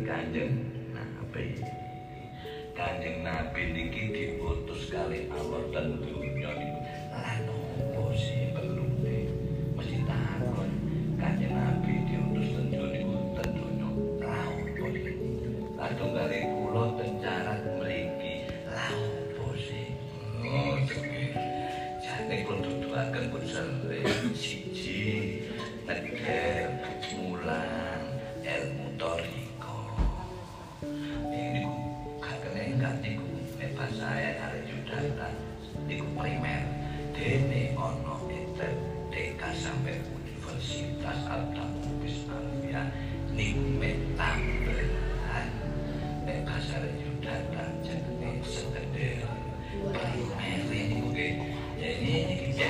Kanjeng Nabi. Kanjeng Nabi niki diutus kali Allah dan dunia niku. Lah nopo sih perlune? Mesti takon. Kanjeng Nabi diutus ten dunia niku ten dunia. Lah opo iki? Lah tunggale kula ten carat mriki. Lah opo sih? Oh, jane kula tutuaken pun siji negeri mulang ilmu toriko. Ini enggak niku pas saya kali Yudhata niku primer dene ono TK sampai Universitas Al-Tamubis Alfia niku metambelan nek pasar Yudhata jenenge sekunder primer niku nggih jadi iki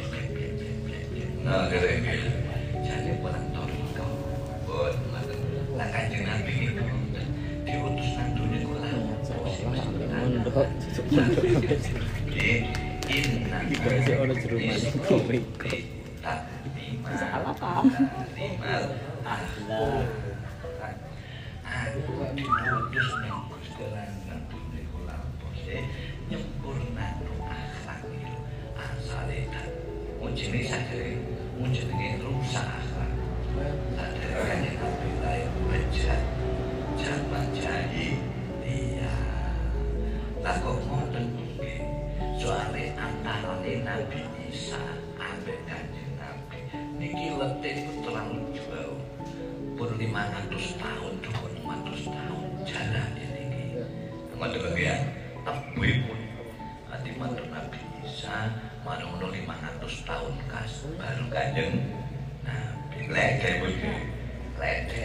nah kene jadi pulang toriko buat lah Kanjeng Nabi itu diutus nang dunia kula mondok iki ono jeruman toriko salah paham Allah aku diutus nang Gusti nang dunia kula pose nyempurnakno akhlak itu asale mujine sadare mujine rusak akhlak sadare Kanjeng Nabi lae bejat zaman jahiliyah lah kok ngoten nggih soalé antarane Nabi Isa ambek Kanjeng Nabi niki letih niku terlalu jauh pun 500 tahun 200 tahun jalan niki ngoten ya tebih ati mantu Nabi Isa manono 500 tahun kas baru Kanjeng Nabi leke begitu leke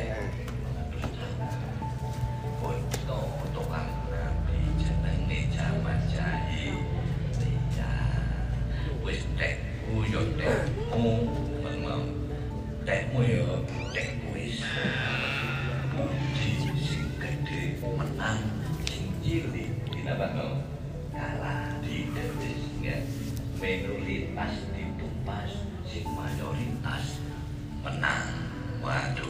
tukang Nabi jenenge jaman jahiliyah wis tek yo tekmu memang tekmu yo tek wis puji sing gede menang sing cilik dinabano kalah di detisnya minoritas ditumpas sing mayoritas menang waduh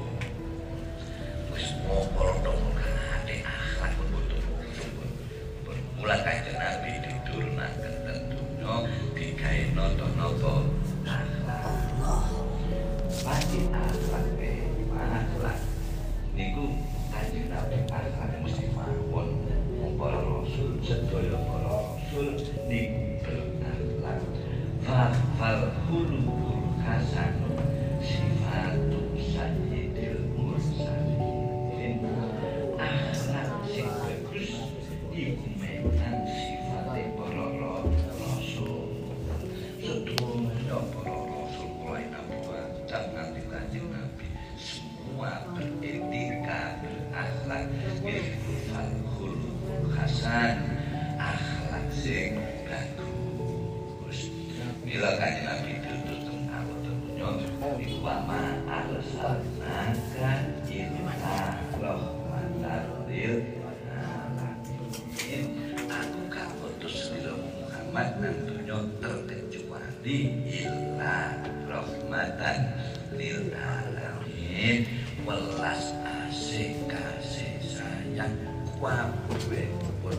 wis ngopol dong ate akhlak betul bermula Kanjeng Nabi diturunaken ten dunya digawe nata-nata akhlak pasti akhlak akhlak niku Kanjeng Nabi akhlak mesti mawon para rasul sedaya para rasul niku berakhlak fal khuluqul hasanun sifatu sayyidil mursalin akhlak sing bagus iku memang sifate para rasul sedoyo para rasul mulai Nabi Adam nanti Kanjeng Nabi semua beretika berakhlak itu khuluqul hasan akhlak sing bagus bila Kanjeng Nabi diutus teng dunya iku wa arsalnaka illa rahmatan lil alamin aku gak utus sira Muhammad nang dunya terkecuali illa rahmatan lil alamin welas asih kasih sayang kabeh pun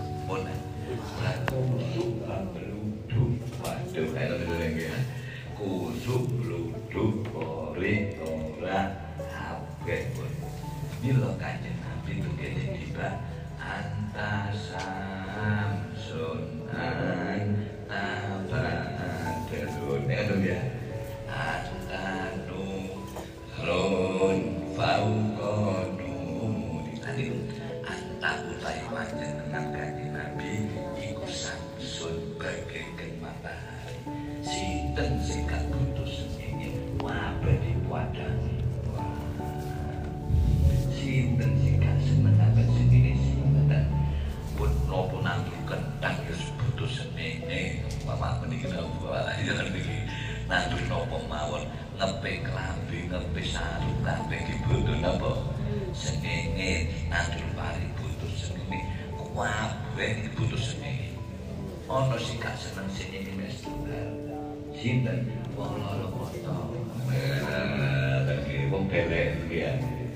kusuk bluduk waduh kaya lho kusuk bluduk ore ora kabeh pun bila Kanjeng Nabi itu kene tiba antasam sunan tabadelun ya antanu ron faukonu tadi anta utai panjenengan Kanjeng Nabi iku samsun bagaikan matahari sinten sing gak butuh sengenge wae diwadani sinten sing gak seneng akan sengenge sinten pun nopo nanggu kentang ya butuh sengenge mama meniki wae ya niki nanggu nopo mawon ngepe klambi ngepe sarung kabeh iki butuh napa sengenge nanggu pari butuh sengenge kabeh iki butuh sengenge ana sing gak seneng sengenge wis tunggal sinten wong lara foto wong belek ya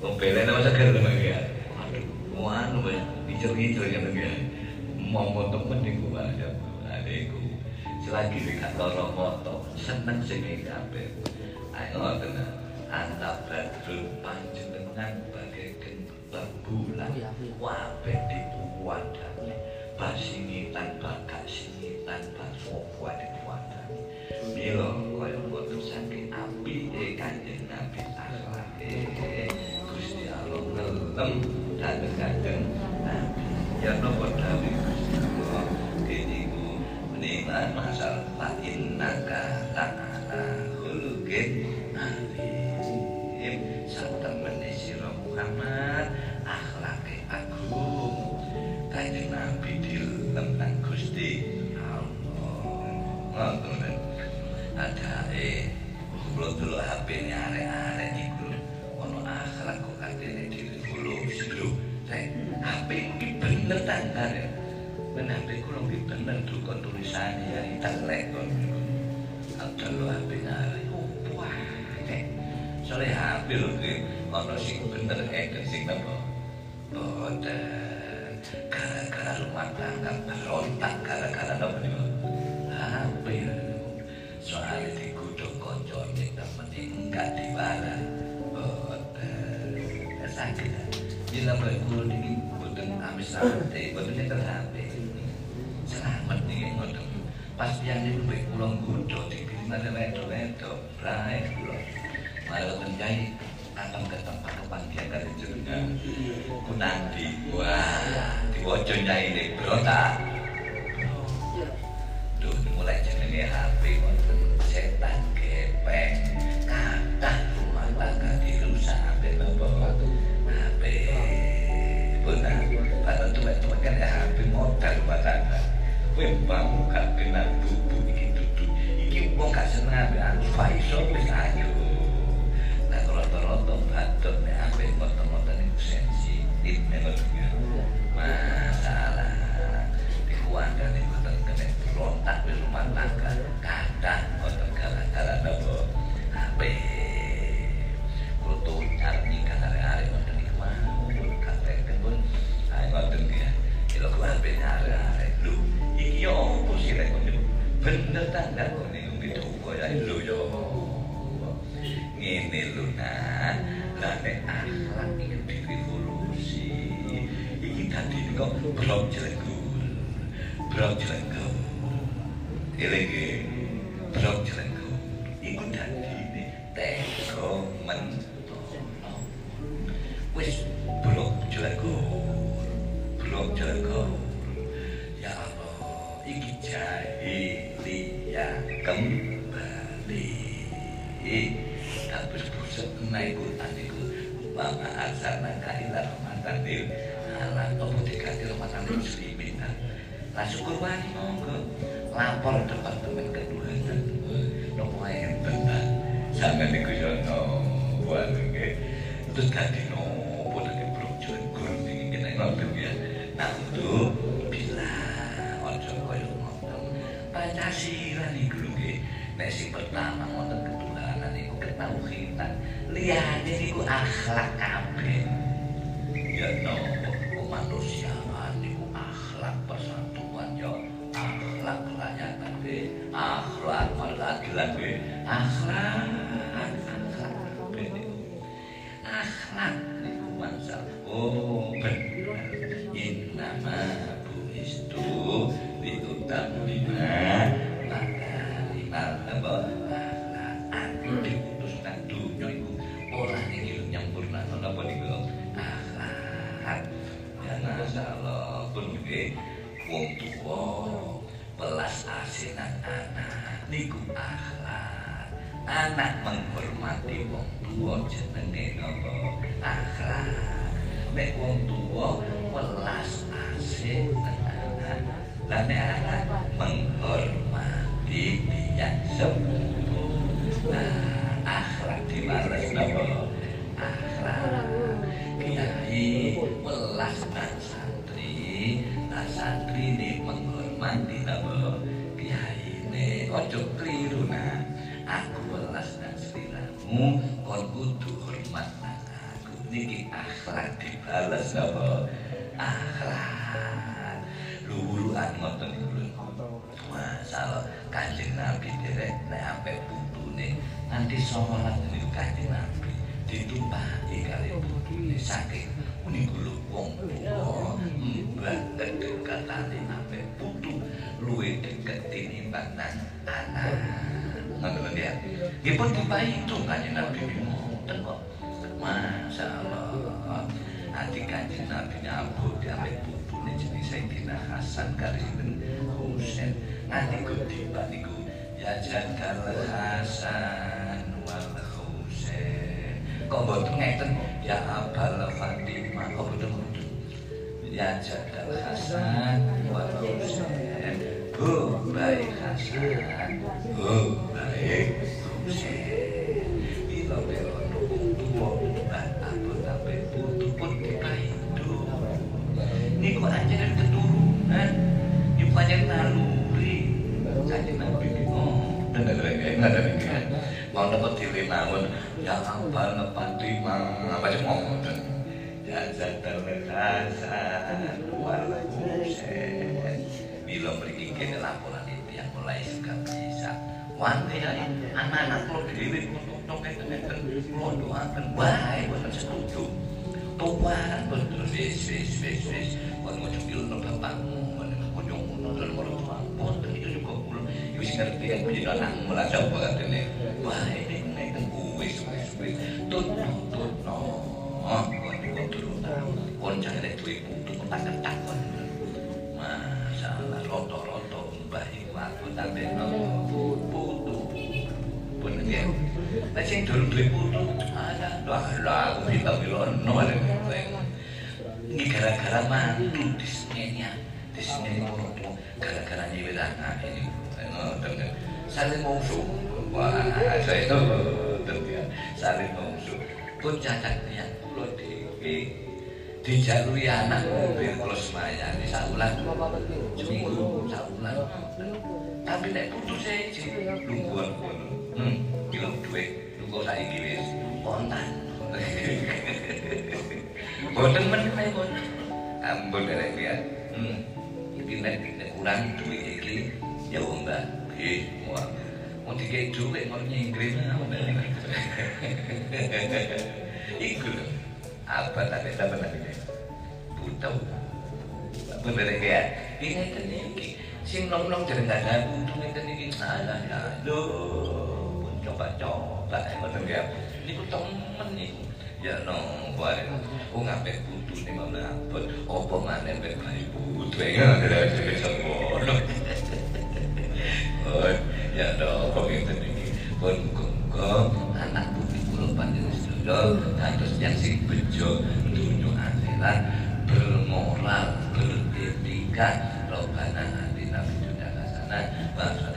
Wong belen apa seger lho ya. Aduh, anu wis dicer-dicer ya ya. Momo temen niku wae. Adekku. Selagi gak lara moto, seneng sing kabeh. Ayo tenan. Antap badrul panjenengan bagaiken rembulan wabeh dipuwadani. Basingitan bakak singitan baswa dipuwadani. Mila kaya boten saking apike Kanjeng Nabi akhlake. Gusti Allah ngelem dhateng Nabi. Ya napa dawuh Gusti Allah keniku menika masal fa innaka ta'ala khuluqin alim. Satemene sira Muhammad akhlake agung. Kanjeng Nabi dilem nang Gusti Allah. Ngoten. Adake kula delok HP-ne arek-arek niku ono akhlak kok katene direvolusi lho. HP iki bener tanggal ya. Men HP kula iki bener duka tulisane ya intelek kok. Kalau HP arek wah. Soale HP lho iki ono sing bener sing napa. Boten. Gara-gara rumah tangga berontak gara-gara napa niku. HP soalnya digodhong kancane temene enggak dibalas. Boten. Sakit. Bila kula niki boten amis-amis, boten nyetel HP. Selamat niki ngoten. Pas piyane mbek kula nggodho dikirine wedok-wedok, rae kula. Malah menjai akan ke tempat kepandian dari jenengan. Ku nanti wah, diwaca nyaine berontak. Duh, mulai jenenge HP wonten setan gepeng. Kathah rumah tangga dirusak ambek napa? HP. Benar. Padahal tuwek-tuwek kan HP modal rumah tangga. Kowe bangun gak kenal bubu iki dudu. Iki wong gak seneng ambek iso wis ayo. Nah rata-rata batur nek ambek motor-motor niku sensitif nek masalah dikuandani boten kena berontak di rumah tangga kadang boten gara-gara napa HP. Kulo nyarni arek-arek boten iku mau kateken pun ae boten ya. Kilo ku HP arek-arek lho iki yo opo sih rek bener tanggal kok niku bidoko ya lho yo. Ngene lho nah, lah nek akhlak iki direvolusi. Iki dadi kok blok jelegur. Blok jelegur. Elege blok jelegur. Iku dadi teko mentono. Wis blok jelegur. Blok jelegur. Ya Allah, iki jahiliyah kembali. Habis buset naik Quran itu Mama asana kaila rahmatanil alam apa dikati rahmatanil muslimin. Lah syukur wani monggo lapor departemen keduanan nopo ae benar sampe niku yo buat nggih terus dadi nopo dadi brojo guru iki nek ngoten ya nah itu bila ojo koyo ngoten Pancasila niku nggih nek sing pertama ngoten niku ketauhidan liyane niku akhlak kabeh ya nopo kemanusiaan niku akhlak persatuan ya akhlak kerakyatan akhlak keadilan akhlak akhlak niku mansal oh bener innama buistu liutammima makarimal apa diutus nang dunya iku ora iki nyampurna napa niku akhlak ya masalah pun nggih wong tuwa welas asinan anak niku akhlak anak menghormati wong tuwa jenenge napa akhlak nek wong tuwa welas asinan anak lan nek anak menghormati tiyang sepuh. Nah, akhlak dimales napa? Akhlak kiai welas nang santri, nah santri ini menghormati napa? Kiai ini ojo keliru nah. Aku welas nang sliramu, kon kudu hormat nang aku. Niki akhlak dibalas apa akhlak luhuran ngoten niku lho. Masalah Kanjeng Nabi derek nek ape putune nganti salat niku Kanjeng Nabi ditumpaki kali putune saking niku lho wong tuwa mbah kedekatane ape putu luwih deket tinimbang anak. Ngoten ya. Nggih pun dipaitu Kanjeng Nabi ngoten kok. Masyaallah. Ati Kanjeng Nabi nyambut ambek putune jenenge Sayyidina Hasan kaliyan Husain. Nganti kutiba niku ya jadal Hasan wal Husain. Kok mboten ngeten ya Abal Fatimah kok mboten ngoten. Ya jadal Hasan wal Husain. Oh baik Hasan. Oh baik Husain. Bila belono tuwa abot-abot putu pun dipaido. Niku anjenengan keturunan. Niku panjenengan naluri. Kanjeng Nabi mau dapat diri mawon ya Abal Fatimah apa sih ngoten. Ya jadal Hasan wal Husain. Bila mriki kene laporan iki yang mulai suka bisa. Wante ya anak-anak kula dhewe kok ngeten-ngeten kula doaken wae boten setuju. Tuhan betul wis kon ngono ilmu bapakmu ngono ngono boten itu juga kula wis ngerti kan punya anakmu lah coba katene. Wah ini ngeten wis tutno kon turunan kon jane duwe putu ketak-ketak kon. Masalah roto-roto mbah iku aku tambah putu. Bener ya. Nek sing durung duwe putu ada lah aku bilang-bilang no ada ini gara-gara mantu disengenya gara-gara nyewet anak ini saling musuh wah saya itu saling musuh pun cacatnya pulau dijalui anak mobil kalau semuanya di saulan seminggu saulan tapi nek putus saya lungguan bilang duit lungguan saya wis kontan boten meneh pun ampun derek ya iki nek kurang duit iki ya mbak wah mau dikei duit mau nyinggrin iku lho apa tak ada benar buta bener ya ini ngeten iki sing nom-nom jeneng ada butuh ngeten iki salah ya lho pun coba-coba ngoten ya niku temen niku ya no bareng wong ambek putune malah abot apa maneh ambek bayi putu ngene ngono oh ya no kok ngeten iki pun kok anak putih kula panjenengan sedaya kados yang sing bejo dunya akhirat bermoral beretika robana atina fid dunya hasanah wa